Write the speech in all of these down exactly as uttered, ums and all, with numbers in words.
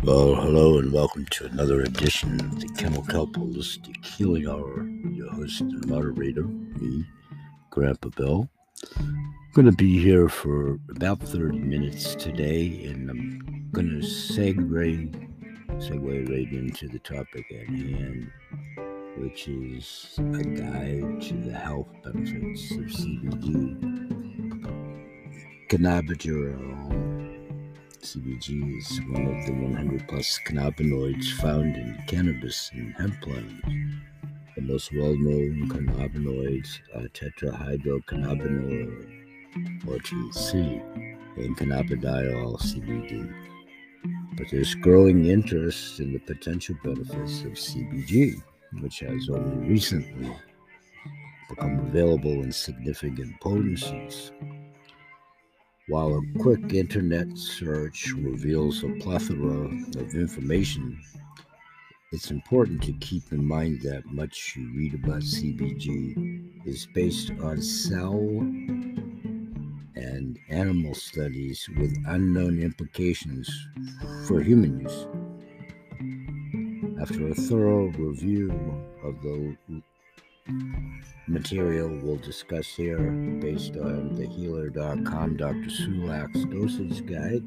Well, hello and welcome to another edition of the Kennel Kelp Holistic Healing Hour. Your host and moderator, me, Grandpa Bill. I'm going to be here for about thirty minutes today, and I'm going to segue, segue right into the topic at hand, which is a guide to the health benefits of C B D. Cannabidiol. C B G is one of the one hundred plus cannabinoids found in cannabis and hemp plants. The most well-known cannabinoids are tetrahydrocannabinol, or T C, and cannabidiol, C B D. But there's growing interest in the potential benefits of C B G, which has only recently become available in significant potencies. While a quick internet search reveals a plethora of information, it's important to keep in mind that much you read about C B G is based on cell and animal studies with unknown implications for human use. After a thorough review of the material we'll discuss here, based on the healer dot com Doctor Sulak's dosage guide,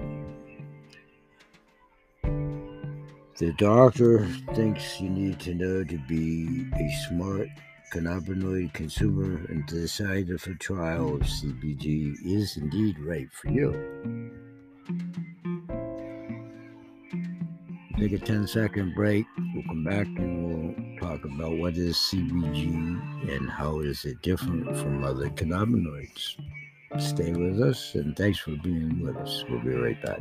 the doctor thinks you need to know to be a smart cannabinoid consumer and to decide if a trial of C B G is indeed right for you. Take a ten second break. We'll come back and we'll talk about what is C B G and how is it different from other cannabinoids. Stay with us, and thanks for being with us. We'll be right back.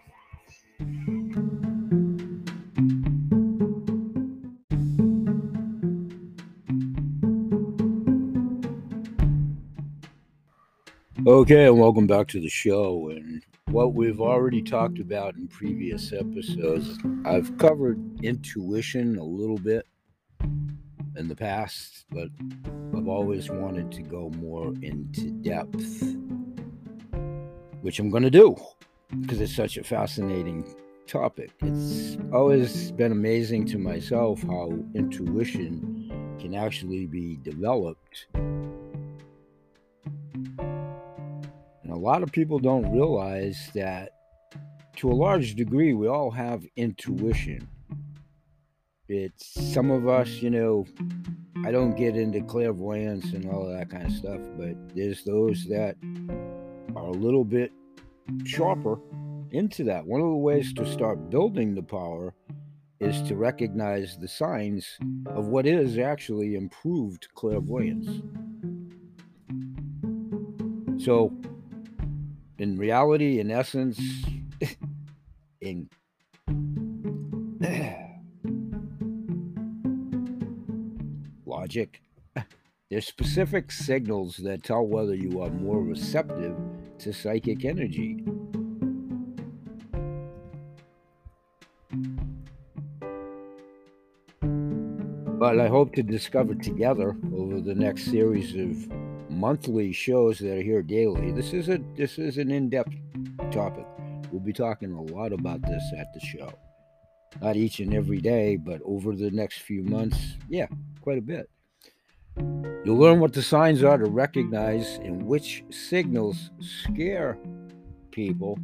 Okay, and welcome back to the show. And what we've already talked about in previous episodes, I've covered intuition a little bit in the past, but I've always wanted to go more into depth, which I'm going to do because it's such a fascinating topic. It's always been amazing to myself how intuition can actually be developed. And a lot of people don't realize that to a large degree, we all have intuition. It's some of us, you know, I don't get into clairvoyance and all that kind of stuff, but there's those that are a little bit sharper into that. One of the ways to start building the power is to recognize the signs of what is actually improved clairvoyance. So, in reality, in essence, in logic, there's specific signals that tell whether you are more receptive to psychic energy. But I hope to discover together over the next series of monthly shows that are here daily. This is a this is an in-depth topic. We'll be talking a lot about this at the show. Not each and every day, but over the next few months, yeah, quite a bit. You'll learn what the signs are to recognize and which signals scare people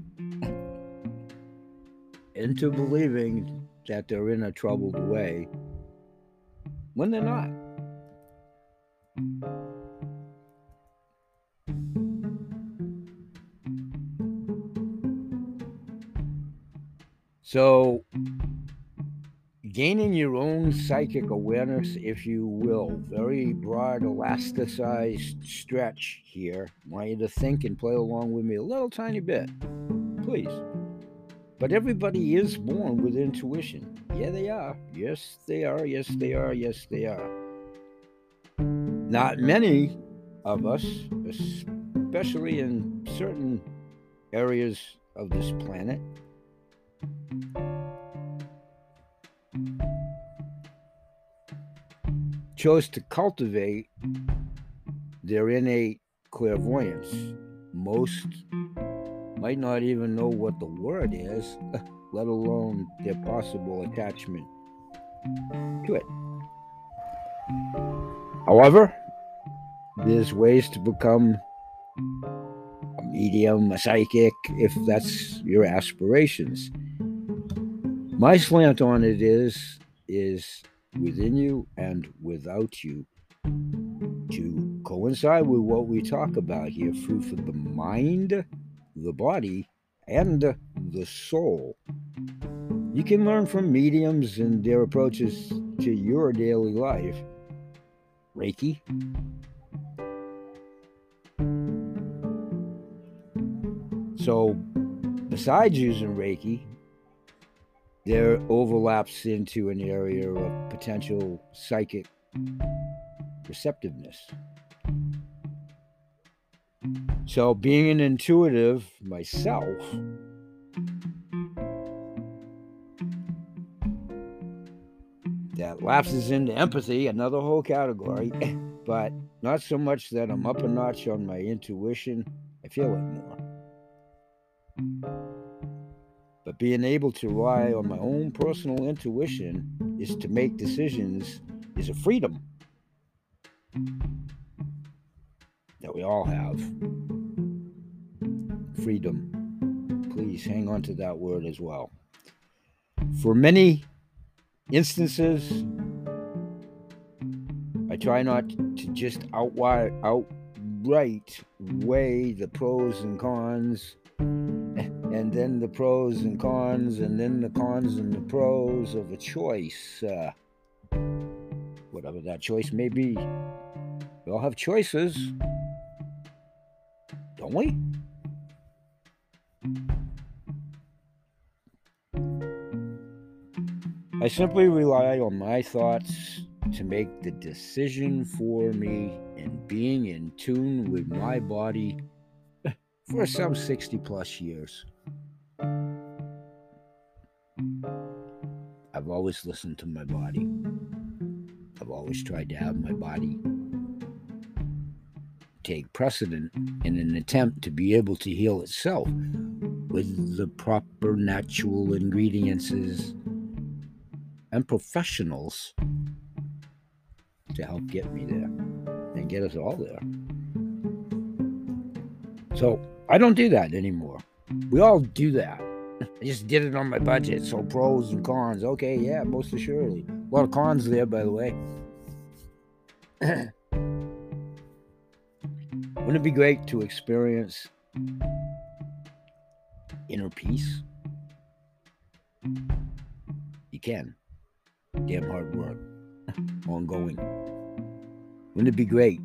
into believing that they're in a troubled way when they're not. So, gaining your own psychic awareness, if you will, very broad, elasticized stretch here. I want you to think and play along with me a little tiny bit, please. But everybody is born with intuition. Yeah, they are. Yes, they are. Yes, they are. Yes, they are. Not many of us, especially in certain areas of this planet, chose to cultivate their innate clairvoyance. Most might not even know what the word is, let alone their possible attachment to it. However, there's ways to become a medium, a psychic, if that's your aspirations. My slant on it is, is within you and without you, to coincide with what we talk about here, food for the mind, the body, and the soul. You can learn from mediums and their approaches to your daily life. Reiki. So, besides using Reiki, there overlaps into an area of potential psychic receptiveness. So, being an intuitive myself, that lapses into empathy, another whole category, but not so much that I'm up a notch on my intuition. I feel it more. But being able to rely on my own personal intuition is to make decisions, is a freedom that we all have. Freedom. Please hang on to that word as well. For many instances, I try not to just outright, outright weigh the pros and cons, and then the pros and cons, and then the cons and the pros of a choice, uh, whatever that choice may be. We all have choices, don't we? I simply rely on my thoughts to make the decision for me, and being in tune with my body for some sixty plus years. I've always listened to my body. I've always tried to have my body take precedent in an attempt to be able to heal itself with the proper natural ingredients and professionals to help get me there and get us all there. So I don't do that anymore. We all do that. I just did it on my budget. So pros and cons. Okay, yeah, most assuredly. A lot of cons there, by the way. Wouldn't it be great to experience inner peace? You can. Damn hard work. Ongoing. Wouldn't it be great?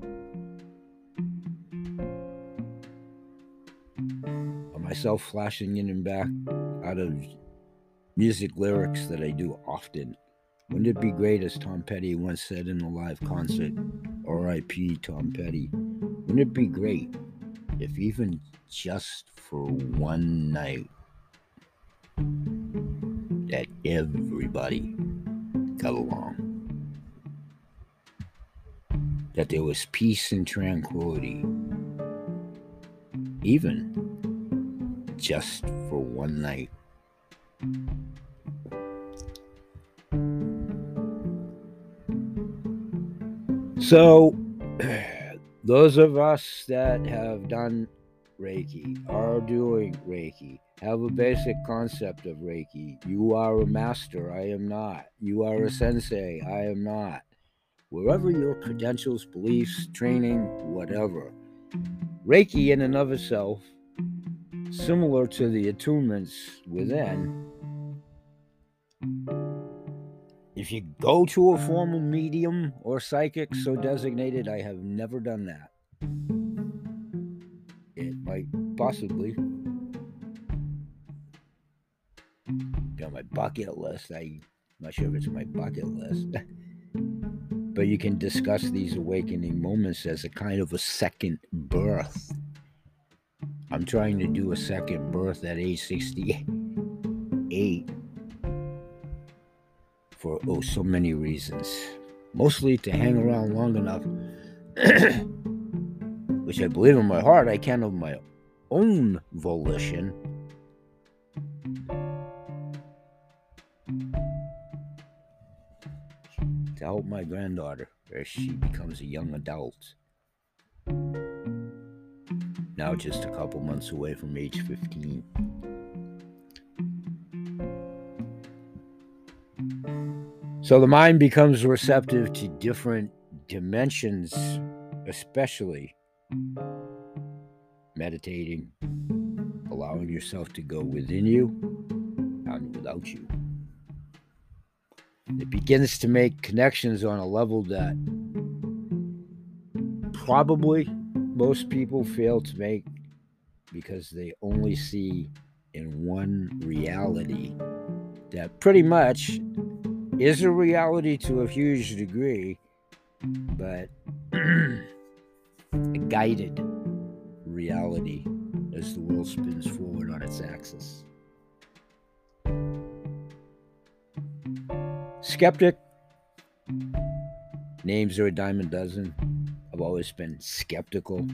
Of myself flashing in and back out of music lyrics that I do often. Wouldn't it be great, as Tom Petty once said in a live concert, R I P Tom Petty, wouldn't it be great if even just for one night that everybody got along, that there was peace and tranquility, even just for one night? So, those of us that have done Reiki, are doing Reiki, have a basic concept of Reiki. You are a master, I am not. You are a sensei, I am not. Wherever your credentials, beliefs, training, whatever. Reiki in and of itself, similar to the attunements within, if you go to a formal medium or psychic so designated, I have never done that. It might possibly be on my bucket list. I'm not sure if it's my bucket list. But you can discuss these awakening moments as a kind of a second birth. I'm trying to do a second birth at age sixty-eight. For oh so many reasons, mostly to hang around long enough, which I believe in my heart I can of my own volition, to help my granddaughter as she becomes a young adult. Now just a couple months away from age fifteen. So the mind becomes receptive to different dimensions, especially meditating, allowing yourself to go within you and without you. It begins to make connections on a level that probably most people fail to make because they only see in one reality that pretty much is a reality to a huge degree, but a guided reality as the world spins forward on its axis. Skeptic, names are a dime a dozen. I've always been skeptical.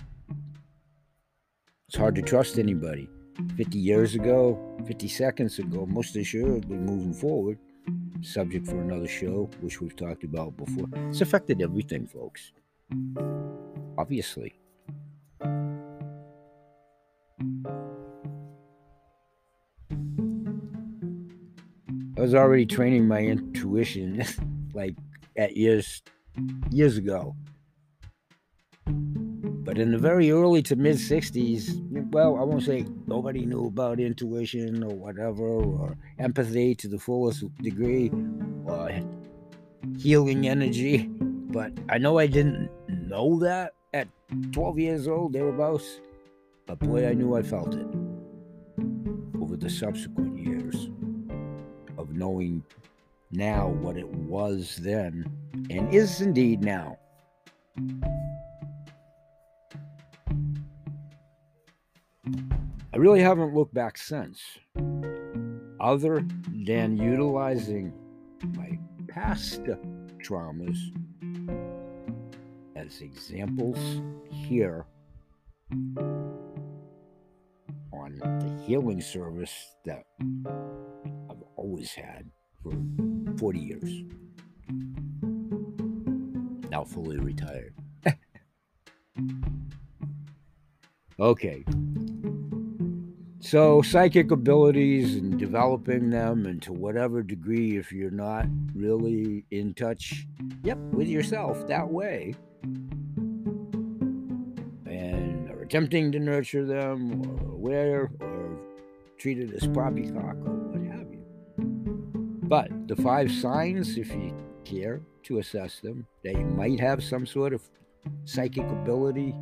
It's hard to trust anybody. fifty years ago, fifty seconds ago, most assuredly moving forward. Subject for another show, which we've talked about before. It's affected everything, folks. Obviously. I was already training my intuition like at years years ago. But in the very early to mid sixties, well, I won't say nobody knew about intuition or whatever, or empathy to the fullest degree, or healing energy. But I know I didn't know that at twelve years old, thereabouts. But boy, I knew I felt it over the subsequent years of knowing now what it was then and is indeed now. I really haven't looked back since, other than utilizing my past traumas as examples here on the healing service that I've always had for forty years. Now fully retired. Okay. So psychic abilities and developing them, and to whatever degree, if you're not really in touch, yep, with yourself that way, and are attempting to nurture them, or aware, or treated as poppycock, or what have you. But the five signs, if you care to assess them, that you might have some sort of psychic ability.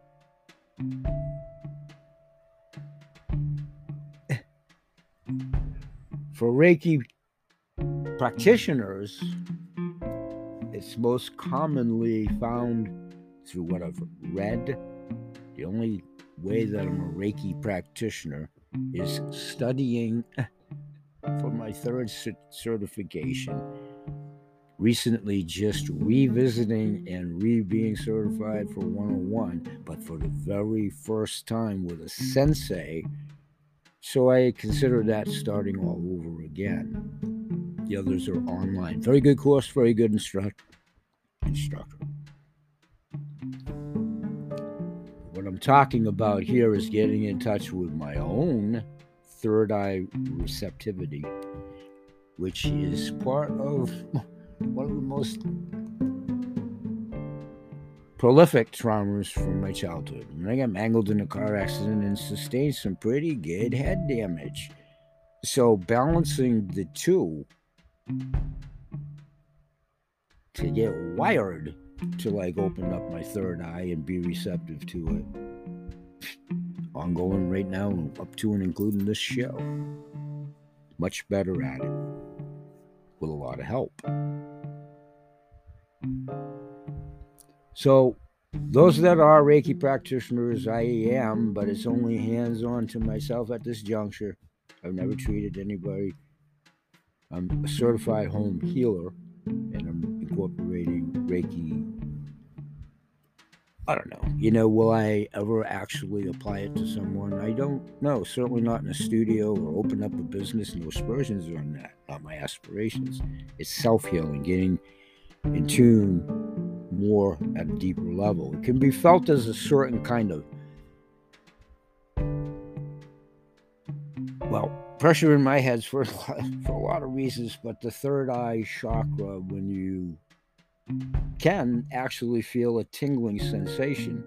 For Reiki practitioners, it's most commonly found through what I've read. The only way that I'm a Reiki practitioner is studying for my third certification. Recently just revisiting and re-being certified for one oh one, but for the very first time with a sensei. So I consider that starting all over again. The others are online. Very good course, very good instruct instructor. What I'm talking about here is getting in touch with my own third eye receptivity, which is part of one of the most prolific traumas from my childhood. And I got mangled in a car accident and sustained some pretty good head damage. So balancing the two to get wired to like open up my third eye and be receptive to it. Ongoing right now, up to and including this show. Much better at it with a lot of help. So those that are Reiki practitioners, I am, but it's only hands-on to myself at this juncture. I've never treated anybody. I'm a certified home healer, and I'm incorporating Reiki. I don't know. You know, will I ever actually apply it to someone? I don't know. Certainly not in a studio or open up a business. No aspersions on that. Not my aspirations. It's self-healing, getting in tune more at a deeper level. It can be felt as a certain kind of, well, pressure in my head for, for a lot of reasons, but the third eye chakra, when you can actually feel a tingling sensation.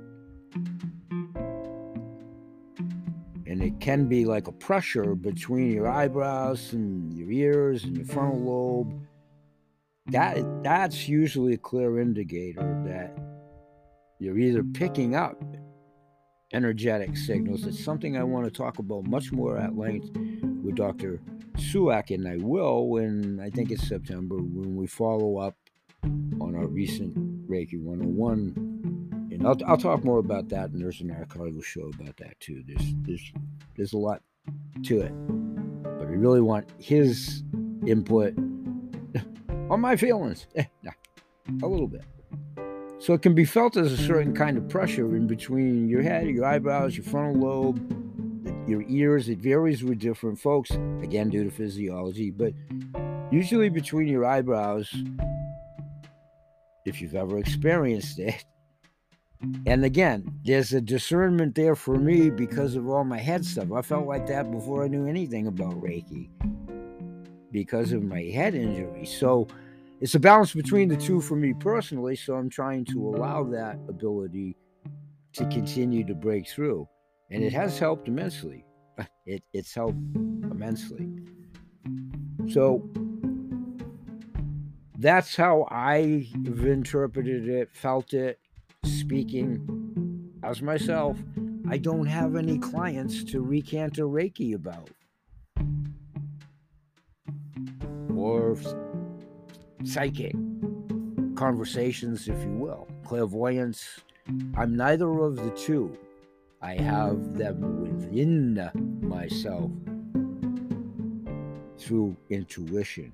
And it can be like a pressure between your eyebrows and your ears and your frontal lobe. That that's usually a clear indicator that you're either picking up energetic signals. It's something I want to talk about much more at length with Doctor Sulak, and I will when I think it's September, when we follow up on our recent Reiki one oh one. And I'll, I'll talk more about that, and there's an archival show about that too. There's there's there's a lot to it, but I really want his input on my feelings, a little bit. So it can be felt as a certain kind of pressure in between your head, your eyebrows, your frontal lobe, your ears. It varies with different folks, again, due to physiology, but usually between your eyebrows, if you've ever experienced it. And again, there's a discernment there for me because of all my head stuff. I felt like that before I knew anything about Reiki because of my head injury. So it's a balance between the two for me personally. So I'm trying to allow that ability to continue to break through. And it has helped immensely. It, it's helped immensely. So that's how I've interpreted it, felt it, speaking as myself. I don't have any clients to recant a Reiki about, or psychic conversations, if you will, clairvoyance. I'm neither of the two. I have them within myself through intuition.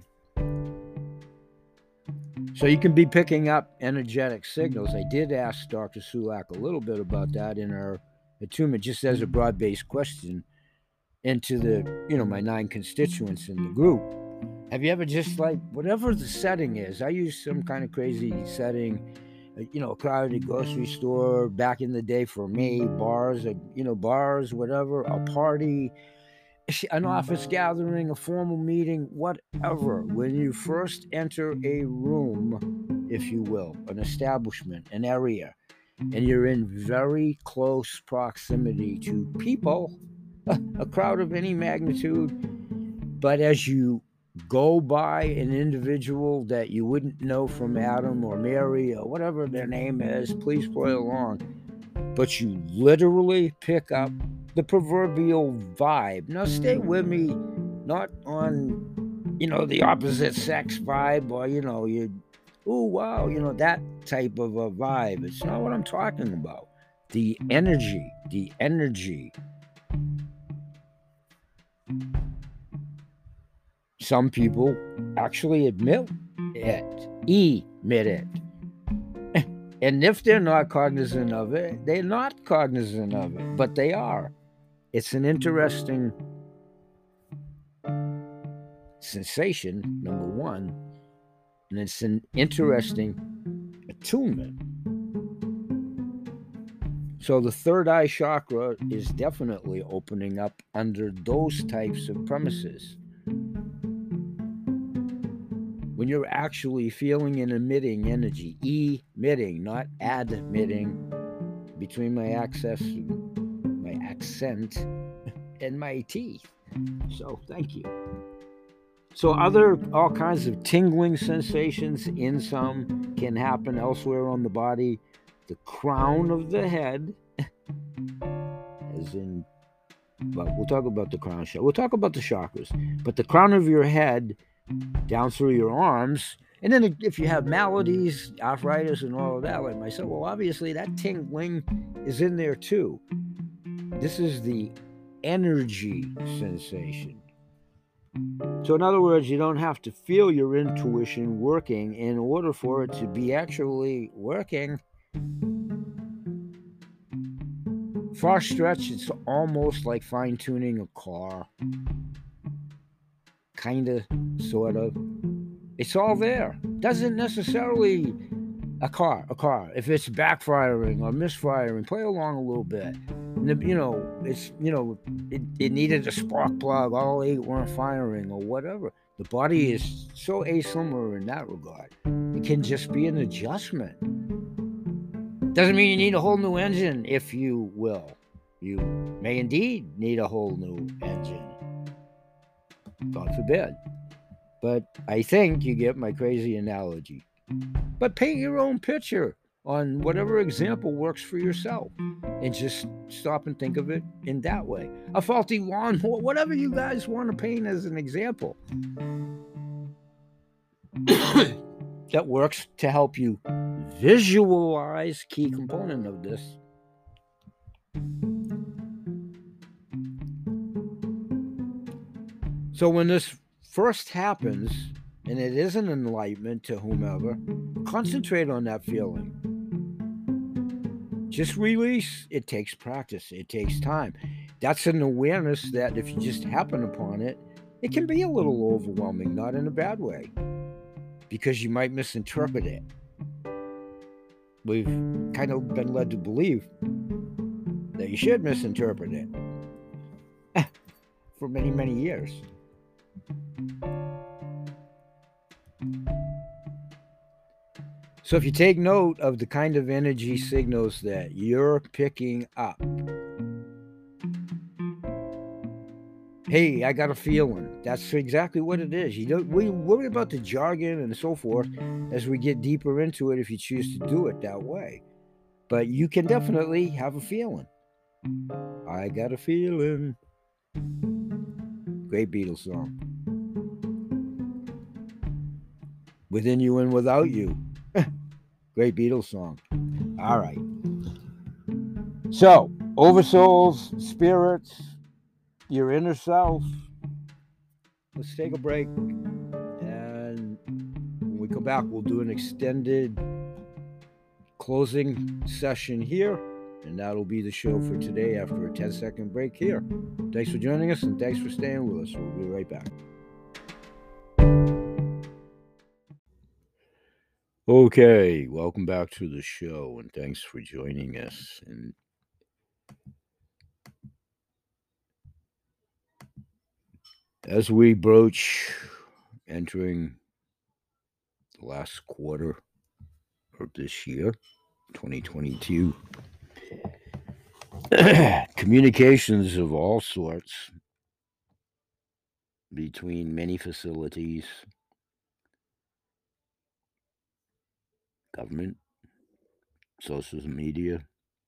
So you can be picking up energetic signals. I did ask Doctor Sulak a little bit about that in our attunement, just as a broad-based question into the, you know, my nine constituents in the group. Have you ever just like, whatever the setting is, I use some kind of crazy setting, you know, a crowded grocery store back in the day for me, bars, you know, bars, whatever, a party, an office gathering, a formal meeting, whatever. When you first enter a room, if you will, an establishment, an area, and you're in very close proximity to people, a crowd of any magnitude, but as you go by an individual that you wouldn't know from Adam or Mary or whatever their name is, please play along, but you literally pick up the proverbial vibe. Now stay with me, not on, you know, the opposite sex vibe, or, you know, you, oh, wow, you know, that type of a vibe. It's not what I'm talking about. The energy, the energy. Some people actually admit it, emit it. And if they're not cognizant of it, they're not cognizant of it, but they are. It's an interesting sensation, number one, and it's an interesting attunement. So the third eye chakra is definitely opening up under those types of premises. When you're actually feeling and emitting energy, emitting, not admitting, between my access, my accent, and my teeth. So thank you. So other, all kinds of tingling sensations in some can happen elsewhere on the body. The crown of the head, as in, well, we'll talk about the crown chakra. We'll talk about the chakras, but the crown of your head down through your arms, and then if you have maladies, arthritis, and all of that, like myself, well, obviously that tingling is in there too. This is the energy sensation. So in other words, you don't have to feel your intuition working in order for it to be actually working. Far stretch, it's almost like fine-tuning a car. Kind of, sort of. It's all there. Doesn't necessarily a car, a car. If it's backfiring or misfiring, play along a little bit. And, you know, it's you know, it, it needed a spark plug. All eight weren't firing or whatever. The body is so asimilar in that regard. It can just be an adjustment. Doesn't mean you need a whole new engine, if you will. You may indeed need a whole new engine. God forbid. But I think you get my crazy analogy. But paint your own picture on whatever example works for yourself. And just stop and think of it in that way. A faulty lawnmower, whatever you guys want to paint as an example. That works to help you visualize key component of this. So when this first happens, and it is an enlightenment to whomever, concentrate on that feeling. Just release. It takes practice. It takes time. That's an awareness that if you just happen upon it, it can be a little overwhelming, not in a bad way, because you might misinterpret it. We've kind of been led to believe that you should misinterpret it for many, many years. So if you take note of the kind of energy signals that you're picking up, hey, I got a feeling. That's exactly what it is. You don't we worry about the jargon and so forth as we get deeper into it if you choose to do it that way. But you can definitely have a feeling. I got a feeling. Great Beatles song. Within You and Without You. Great Beatles song. All right. So, oversouls, spirits, your inner self. Let's take a break. And when we come back, we'll do an extended closing session here. And that'll be the show for today after a ten second break here. Thanks for joining us and thanks for staying with us. We'll be right back. Okay, welcome back to the show, and thanks for joining us. And as we broach entering the last quarter of this year, twenty twenty-two, communications of all sorts between many facilities, government, social media,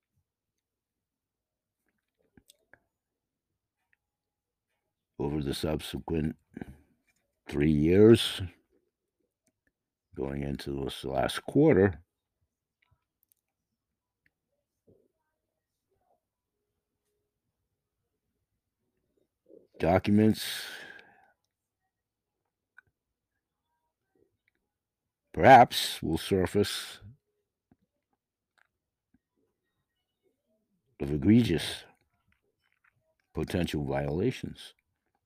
over the subsequent three years, going into this last quarter, documents perhaps will surface of egregious potential violations.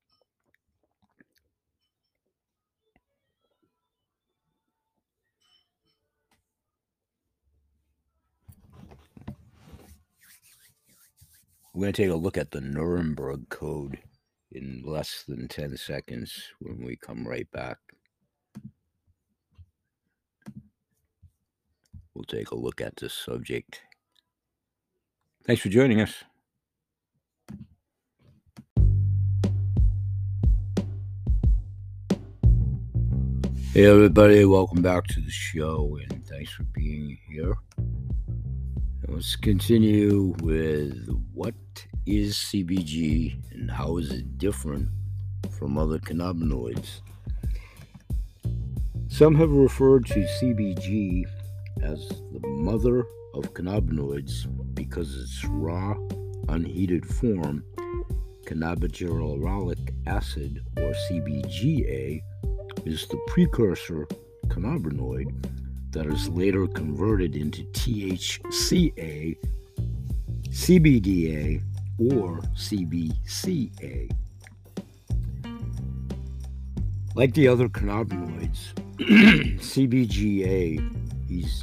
We're going to take a look at the Nuremberg Code in less than ten seconds when we come right back. We'll take a look at this subject. Thanks for joining us. Hey everybody, welcome back to the show and thanks for being here. Let's continue with what is C B G and how is it different from other cannabinoids. Some have referred to C B G as the mother of cannabinoids because its raw, unheated form, cannabigerolic acid or C B G A, is the precursor cannabinoid that is later converted into T H C A, C B D A, or C B C A. Like the other cannabinoids, C B G A is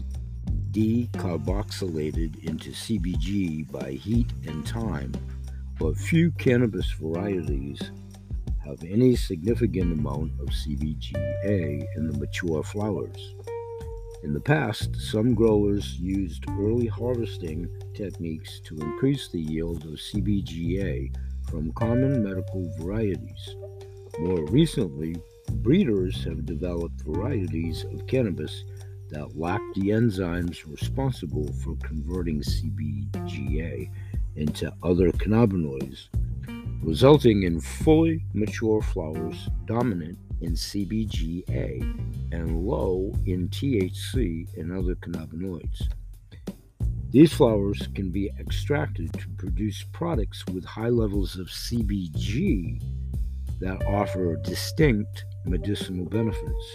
decarboxylated into C B G by heat and time, but few cannabis varieties have any significant amount of C B G A in the mature flowers. In the past, some growers used early harvesting techniques to increase the yield of C B G A from common medical varieties. More recently, breeders have developed varieties of cannabis that lack the enzymes responsible for converting C B G A into other cannabinoids, resulting in fully mature flowers dominant in C B G A and low in T H C and other cannabinoids. These flowers can be extracted to produce products with high levels of C B G that offer distinct medicinal benefits.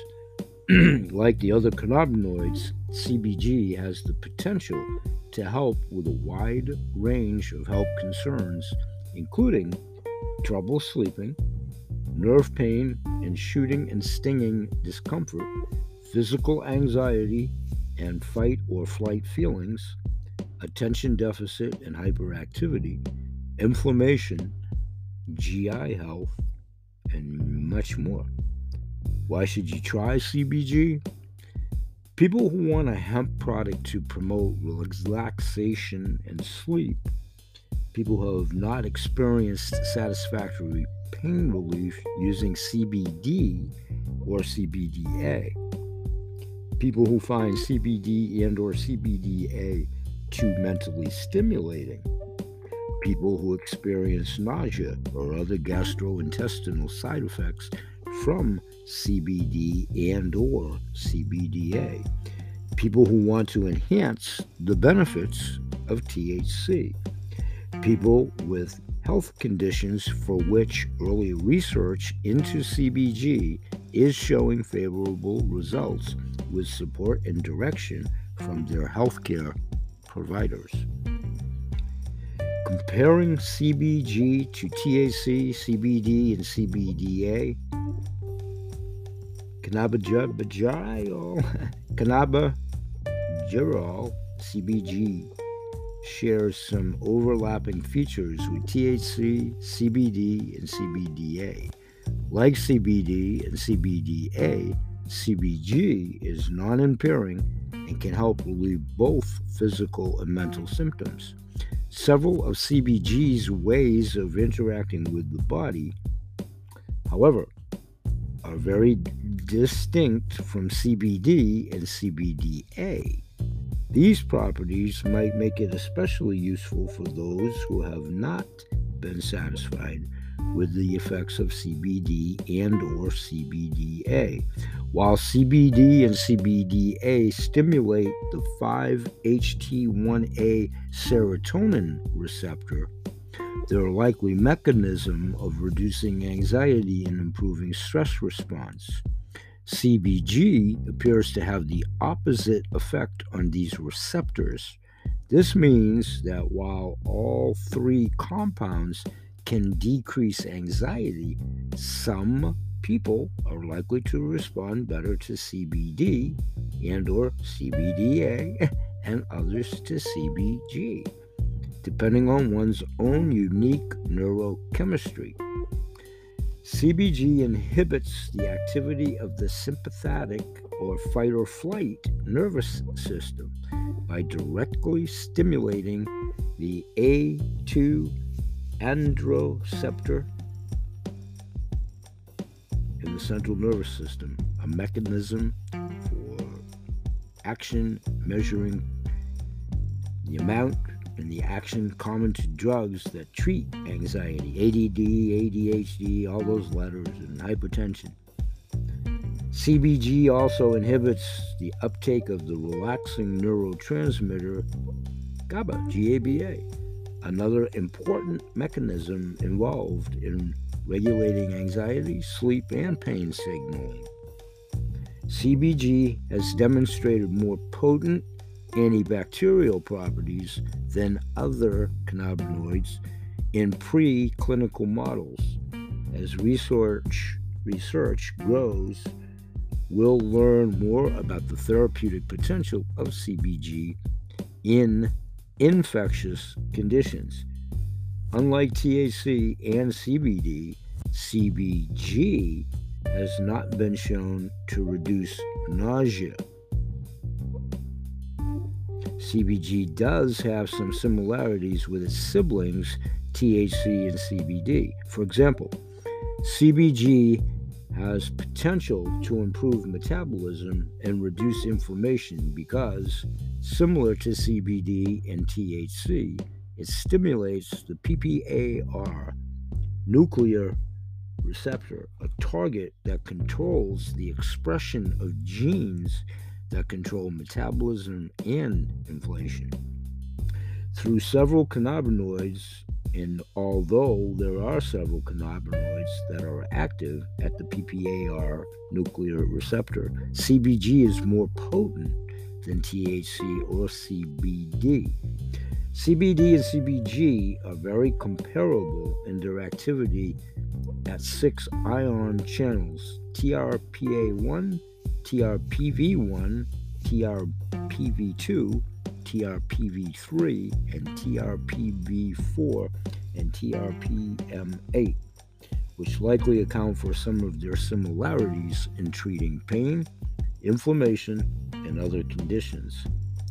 Like the other cannabinoids, C B G has the potential to help with a wide range of health concerns, including trouble sleeping, nerve pain and shooting and stinging discomfort, physical anxiety and fight or flight feelings, attention deficit and hyperactivity, inflammation, G I health, and much more. Why should you try C B G? People who want a hemp product to promote relaxation and sleep, people who have not experienced satisfactory pain relief using C B D or C B D A, people who find C B D and or C B D A too mentally stimulating, people who experience nausea or other gastrointestinal side effects from C B D and or C B D A, people who want to enhance the benefits of T H C, people with health conditions for which early research into C B G is showing favorable results with support and direction from their healthcare providers. Comparing C B G to T H C, C B D, and C B D A, cannabidiol, cannabidiol, C B G shares some overlapping features with T H C, C B D, and C B D A. Like C B D and C B D A, C B G is non-impairing and can help relieve both physical and mental symptoms. Several of C B G's ways of interacting with the body, however, are very distinct from C B D and C B D A. These properties might make it especially useful for those who have not been satisfied with the effects of C B D and or C B D A. While C B D and C B D A stimulate the five H T one A serotonin receptor, their likely mechanism of reducing anxiety and improving stress response. C B G appears to have the opposite effect on these receptors. This means that while all three compounds can decrease anxiety, some people are likely to respond better to C B D and or C B D A and others to C B G, depending on one's own unique neurochemistry. C B G inhibits the activity of the sympathetic or fight or flight nervous system by directly stimulating the A two androceptor in the central nervous system, a mechanism for action measuring the amount and the action common to drugs that treat anxiety, A D D, A D H D, all those letters, and hypertension. C B G also inhibits the uptake of the relaxing neurotransmitter GABA, G A B A, another important mechanism involved in regulating anxiety, sleep, and pain signaling. C B G has demonstrated more potent antibacterial properties than other cannabinoids in preclinical models. As research research grows, we'll learn more about the therapeutic potential of C B G in infectious conditions. Unlike T H C and C B D, C B G has not been shown to reduce nausea. C B G does have some similarities with its siblings, T H C and C B D. For example, C B G has potential to improve metabolism and reduce inflammation because, similar to C B D and T H C, it stimulates the P P A R nuclear receptor, a target that controls the expression of genes that control metabolism and inflammation. Through several cannabinoids, and although there are several cannabinoids that are active at the P P A R nuclear receptor, C B G is more potent than T H C or C B D. C B D and C B G are very comparable in their activity at six ion channels: T R P A one, T R P V one, T R P V two, T R P V three, and T R P V four, and T R P M eight, which likely account for some of their similarities in treating pain, inflammation, and other conditions.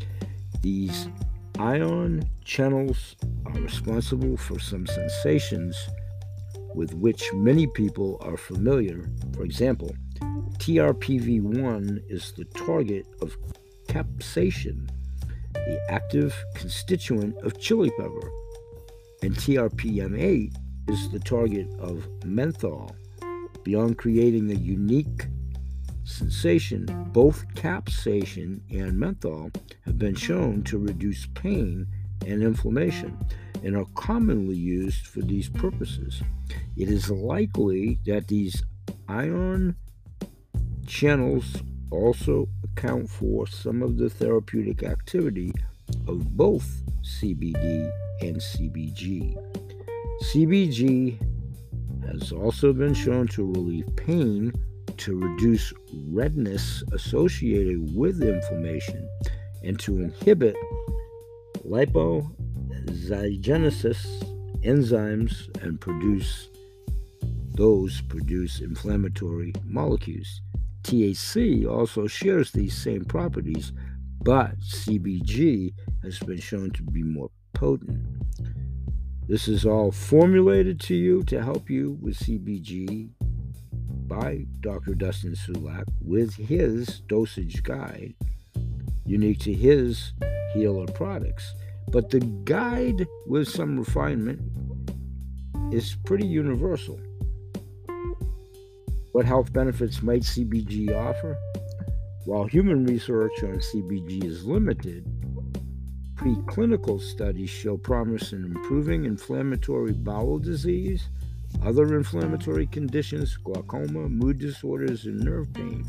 These ion channels are responsible for some sensations with which many people are familiar. For example, T R P V one is the target of capsaicin, the active constituent of chili pepper, and T R P M eight is the target of menthol. Beyond creating a unique sensation, both capsaicin and menthol have been shown to reduce pain and inflammation and are commonly used for these purposes. It is likely that these ion channels also account for some of the therapeutic activity of both C B D and C B G. C B G has also been shown to relieve pain, to reduce redness associated with inflammation, and to inhibit lipoxygenesis enzymes and produce those produce inflammatory molecules. T H C also shares these same properties, but C B G has been shown to be more potent. This is all formulated to you to help you with C B G by Doctor Dustin Sulak with his dosage guide, unique to his healer products. But the guide, with some refinement, is pretty universal. What health benefits might C B G offer? While human research on C B G is limited, preclinical studies show promise in improving inflammatory bowel disease, other inflammatory conditions, glaucoma, mood disorders, and nerve pain.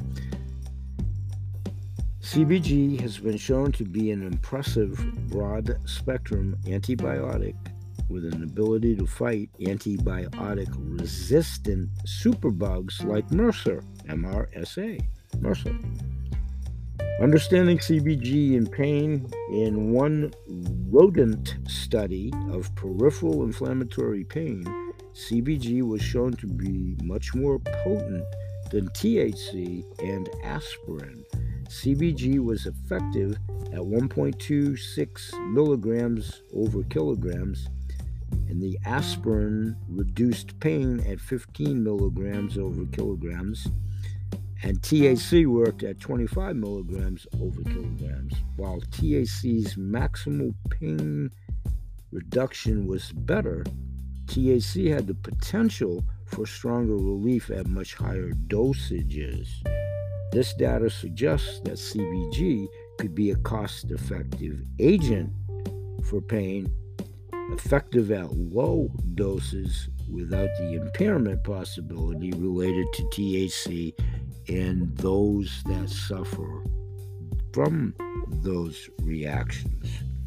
C B G has been shown to be an impressive broad-spectrum antibiotic with an ability to fight antibiotic-resistant superbugs like MRSA, M R S A, MRSA. Understanding C B G in pain: in one rodent study of peripheral inflammatory pain, C B G was shown to be much more potent than T H C and aspirin. C B G was effective at one point two six milligrams over kilograms, and the aspirin reduced pain at fifteen milligrams over kilograms, and T H C worked at twenty-five milligrams over kilograms. While T H C's maximal pain reduction was better, T H C had the potential for stronger relief at much higher dosages. This data suggests that C B G could be a cost-effective agent for pain, effective at low doses without the impairment possibility related to T H C and those that suffer from those reactions.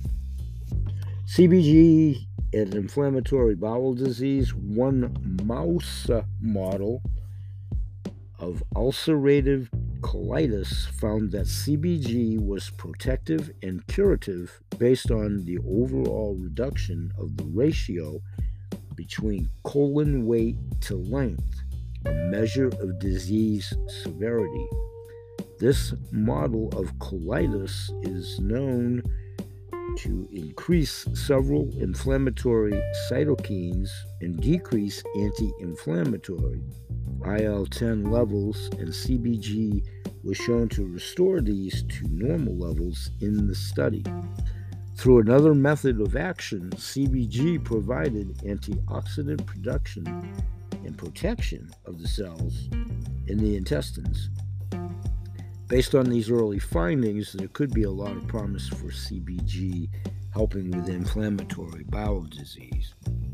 C B G and inflammatory bowel disease: one mouse model of ulcerative colitis found that C B G was protective and curative based on the overall reduction of the ratio between colon weight to length, a measure of disease severity. This model of colitis is known to increase several inflammatory cytokines and decrease anti-inflammatory. I L ten levels and C B G was shown to restore these to normal levels in the study. Through another method of action, C B G provided antioxidant production and protection of the cells in the intestines. Based on these early findings, there could be a lot of promise for C B G helping with inflammatory bowel disease.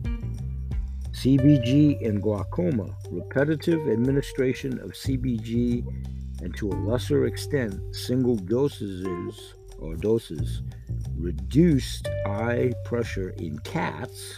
C B G and glaucoma. Repetitive administration of C B G and to a lesser extent single dosages or doses reduced eye pressure in cats.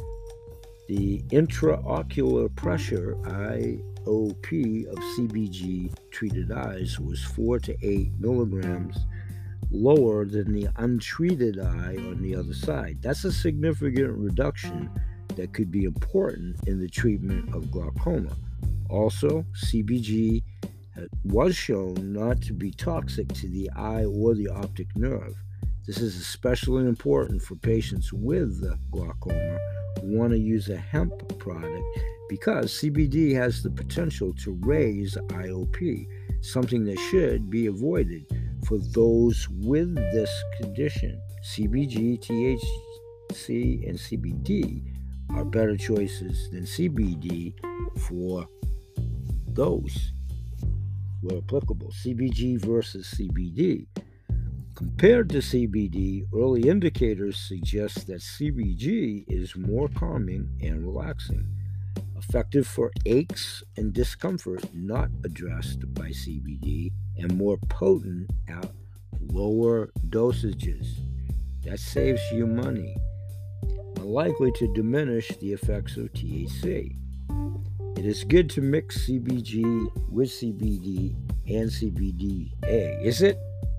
The intraocular pressure I O P of C B G treated eyes was four to eight milligrams lower than the untreated eye on the other side. That's a significant reduction that could be important in the treatment of glaucoma. Also, C B G was shown not to be toxic to the eye or the optic nerve. This is especially important for patients with glaucoma who want to use a hemp product because C B D has the potential to raise I O P, something that should be avoided for those with this condition. C B G, T H C, and C B D are better choices than C B D for those where applicable. C B G versus C B D. Compared to C B D, early indicators suggest that C B G is more calming and relaxing, effective for aches and discomfort not addressed by C B D, and more potent at lower dosages. That saves you money, likely to diminish the effects of T H C. It is good to mix C B G with C B D and C B D A, is it?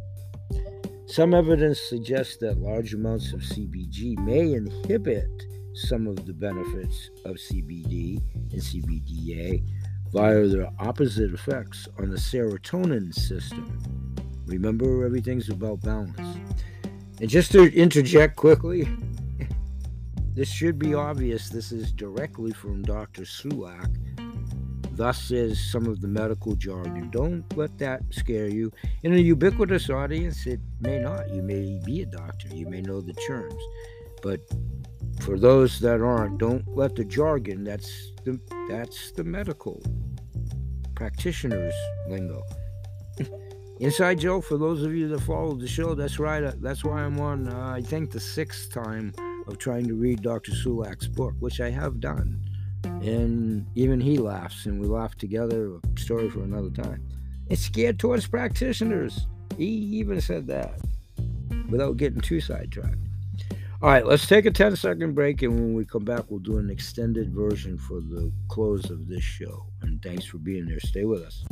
Some evidence suggests that large amounts of C B G may inhibit some of the benefits of C B D and C B D A via their opposite effects on the serotonin system. Remember, everything's about balance. And just to interject quickly, this should be obvious. This is directly from Doctor Sulak. Thus is some of the medical jargon. Don't let that scare you. In a ubiquitous audience, it may not. You may be a doctor. You may know the terms. But for those that aren't, don't let the jargon, that's the, that's the medical practitioner's lingo. Inside Joe, for those of you that follow the show, that's right. That's why I'm on, uh, I think, the sixth time of trying to read Doctor Sulak's book, which I have done. And even he laughs, and we laugh together. A story for another time. It's geared towards practitioners. He even said that without getting too sidetracked. All right, let's take a ten-second break, and when we come back, we'll do an extended version for the close of this show. And thanks for being there. Stay with us.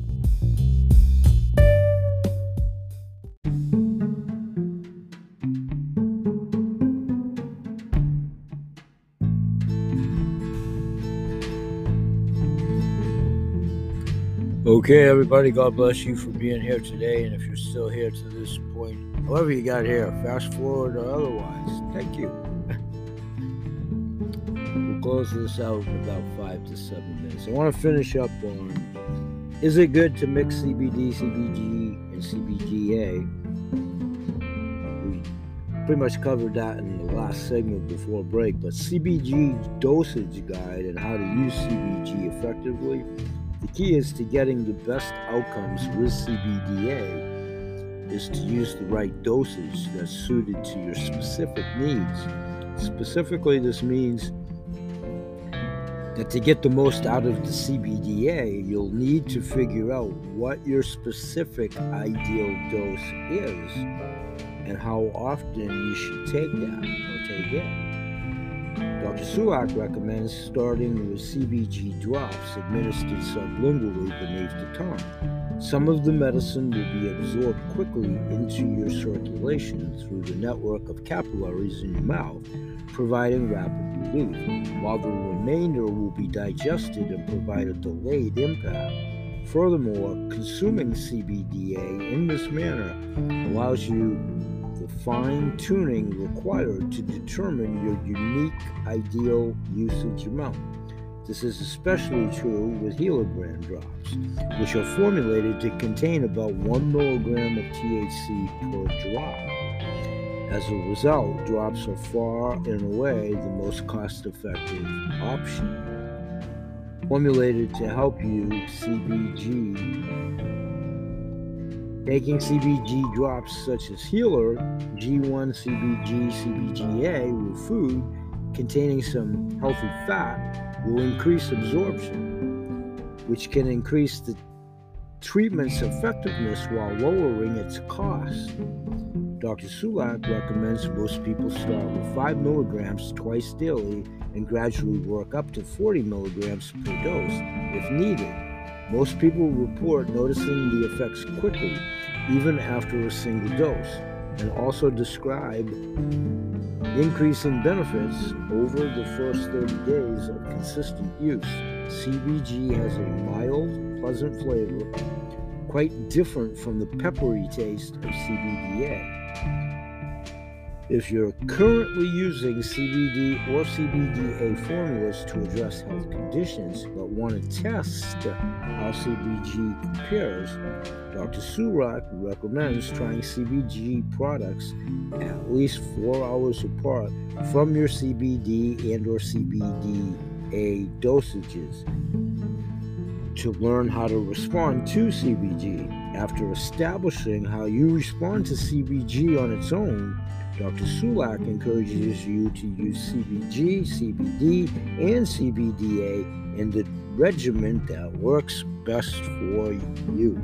Okay, everybody, God bless you for being here today. And if you're still here to this point, however you got here, fast forward or otherwise, thank you. We'll close this out in about five to seven minutes. I want to finish up on, is it good to mix C B D, C B G, and C B D A? We pretty much covered that in the last segment before break, but C B G dosage guide and how to use C B G effectively. The key is to getting the best outcomes with C B D A is to use the right dosage that's suited to your specific needs. Specifically, this means that to get the most out of the C B D A, you'll need to figure out what your specific ideal dose is and how often you should take that or take it. Doctor Sulak recommends starting with C B G drops administered sublingually beneath the tongue. Some of the medicine will be absorbed quickly into your circulation through the network of capillaries in your mouth, providing rapid relief, while the remainder will be digested and provide a delayed impact. Furthermore, consuming C B D A in this manner allows you the fine-tuning required to determine your unique ideal usage amount. This is especially true with Healer brand drops, which are formulated to contain about one milligram of T H C per drop. As a result, drops are far and away the most cost-effective option. Formulated to help you C B G. Taking C B G drops such as Healer, G one C B G, C B G A with food containing some healthy fat will increase absorption, which can increase the treatment's effectiveness while lowering its cost. Doctor Sulak recommends most people start with five milligrams twice daily and gradually work up to forty milligrams per dose if needed. Most people report noticing the effects quickly, even after a single dose, and also describe increasing benefits over the first thirty days of consistent use. C B G has a mild, pleasant flavor, quite different from the peppery taste of C B D A. If you're currently using C B D or C B D A formulas to address health conditions but want to test how C B G compares, Doctor Sulak recommends trying C B G products at least four hours apart from your C B D and or C B D A dosages to learn how to respond to C B G. After establishing how you respond to C B G on its own, Doctor Sulak encourages you to use C B G, C B D, and C B D A in the regimen that works best for you.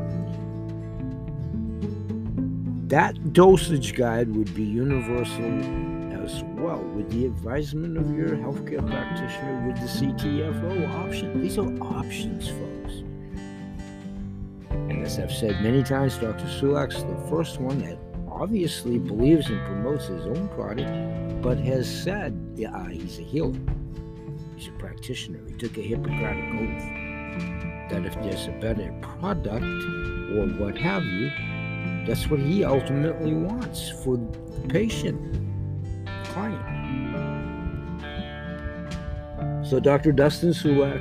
That dosage guide would be universal as well, with the advisement of your healthcare practitioner with the C T F O option. These are options, folks. And as I've said many times, Doctor Sulak's the first one that obviously believes and promotes his own product, but has said, yeah, he's a healer. He's a practitioner. He took a Hippocratic oath that if there's a better product or what have you, that's what he ultimately wants for the patient, the client. So Doctor Dustin Sulak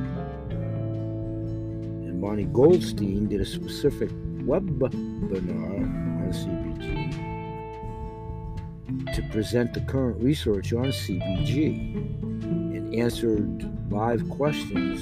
and Bonnie Goldstein did a specific webinar on C B G to present the current research on C B G and answered live questions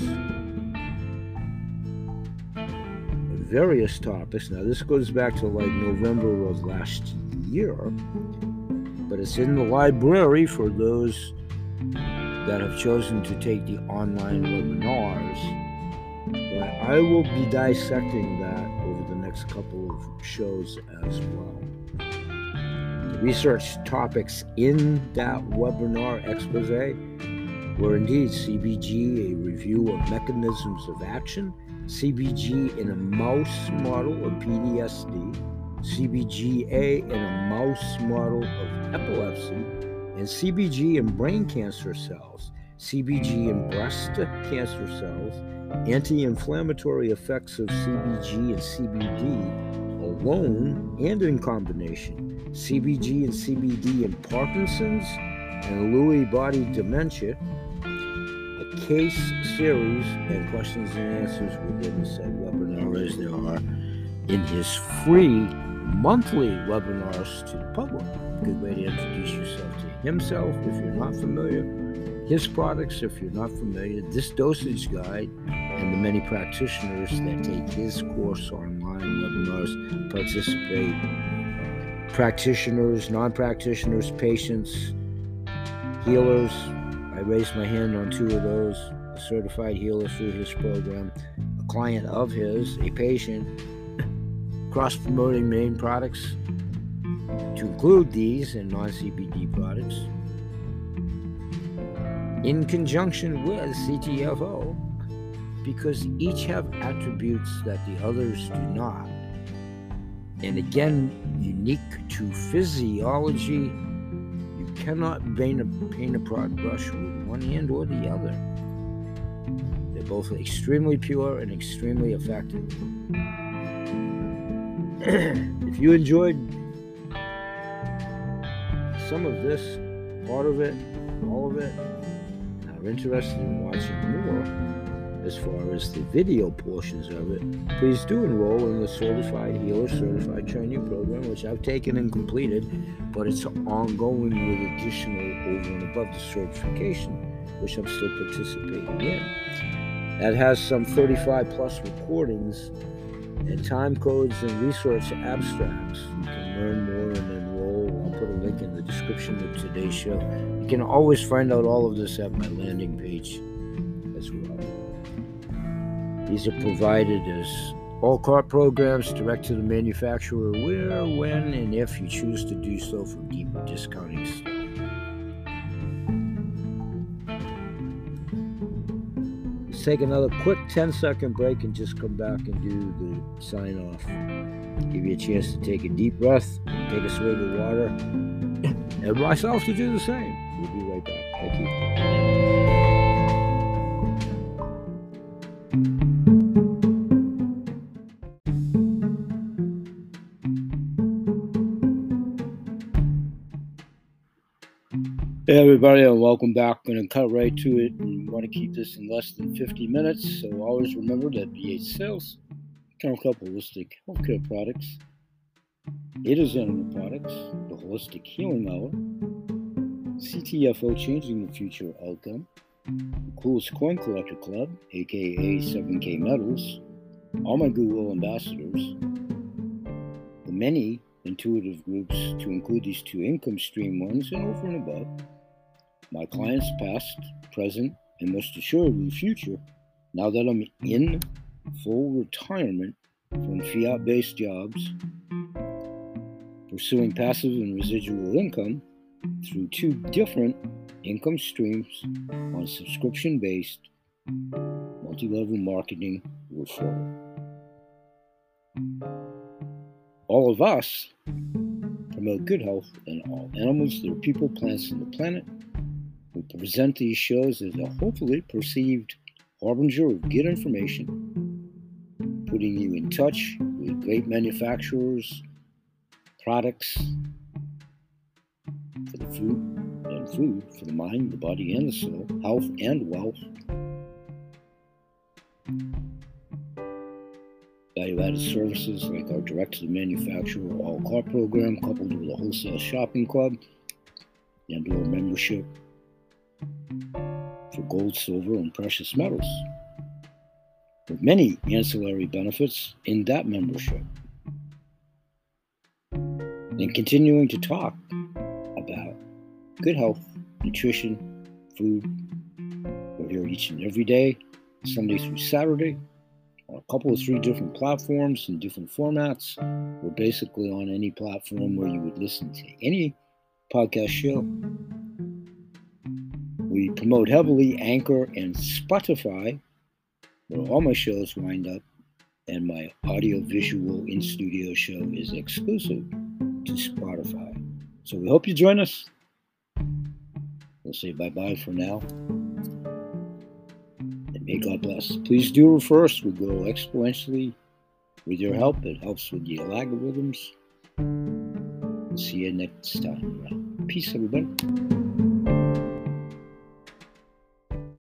on various topics. Now this goes back to like November of last year, but it's in the library for those that have chosen to take the online webinars. But I will be dissecting that over the next couple of shows as well. The research topics in that webinar expose were indeed C B G, a review of mechanisms of action, C B G in a mouse model of P T S D, C B G A in a mouse model of epilepsy, and C B G in brain cancer cells, C B G in breast cancer cells, anti-inflammatory effects of C B G and C B D alone and in combination, C B G and C B D in Parkinson's and Lewy body dementia, a case series and questions and answers within the said webinar as there are in his free monthly webinars to the public. Good way to introduce yourself to himself if you're not familiar, his products if you're not familiar, this dosage guide, and the many practitioners that take his course online webinars participate. Practitioners, non-practitioners, patients, healers. I raised my hand on two of those. A certified healer through his program, a client of his, a patient, cross-promoting main products to include these and non-C B D products in conjunction with C T F O, because each have attributes that the others do not. And again, unique to physiology, you cannot paint a, paint a broad brush with one hand or the other. They're both extremely pure and extremely effective. If you enjoyed some of this, part of it, all of it, and are interested in watching more as far as the video portions of it, please do enroll in the Certified Healer Certified Training Program, which I've taken and completed, but it's ongoing with additional over and above the certification, which I'm still participating in. That has some thirty-five plus recordings and time codes and resource abstracts. You can learn more and enroll. I'll put a link in the description of today's show. You can always find out all of this at my landing page as well. These are provided as all cart programs direct to the manufacturer where, when, and if you choose to do so for deeper discounting stuff. Let's take another quick ten second break and just come back and do the sign off. Give you a chance to take a deep breath, take a swig of water, and myself to do the same. We'll be right back. Thank you. Hey everybody, and welcome back. I'm going to cut right to it, and we want to keep this in less than fifty minutes. So always remember that B H Sales, Kennel Club Holistic Healthcare Products, It Is Animal Products, the Holistic Healing Hour, C T F O Changing the Future Outcome, the Coolest Coin Collector Club, aka seven K Metals, all my Goodwill ambassadors, the many intuitive groups to include these two income stream ones, and over and above, my clients past, present, and most assuredly future, now that I'm in full retirement from fiat-based jobs, pursuing passive and residual income through two different income streams on subscription-based multi-level marketing referral. All of us promote good health in all animals, their people, plants, and the planet. We present these shows as a hopefully perceived harbinger of good information, putting you in touch with great manufacturers, products for the food and food for the mind, the body, and the soul, health and wealth. Value-added services like our direct-to-the-manufacturer all-cart program, coupled with a wholesale shopping club and or membership for gold, silver, and precious metals, with many ancillary benefits in that membership. And continuing to talk about good health, nutrition, food. We're here each and every day, Sunday through Saturday, on a couple of three different platforms in different formats. We're basically on any platform where you would listen to any podcast show. We promote heavily Anchor and Spotify, where all my shows wind up, and my audio-visual in-studio show is exclusive to Spotify. So we hope you join us. We'll say bye-bye for now. And may God bless. Please do refer us. We grow exponentially with your help. It helps with the algorithms. We'll see you next time. Peace, everybody.